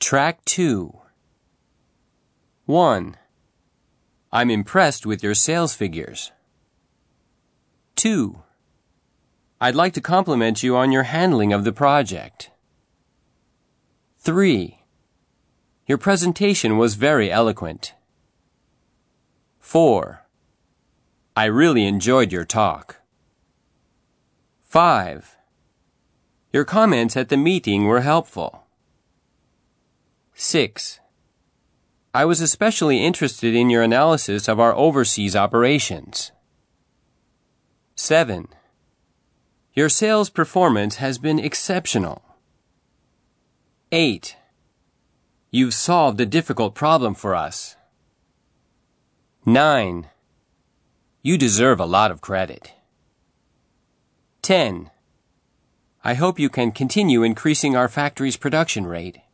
Track 2. 1. I'm impressed with your sales figures. 2. I'd like to compliment you on your handling of the project. 3. Your presentation was very eloquent. 4. I really enjoyed your talk. 5. Your comments at the meeting were helpful. 6. I was especially interested in your analysis of our overseas operations. 7. Your sales performance has been exceptional. 8. You've solved a difficult problem for us. 9. You deserve a lot of credit. 10. I hope you can continue increasing our factory's production rate.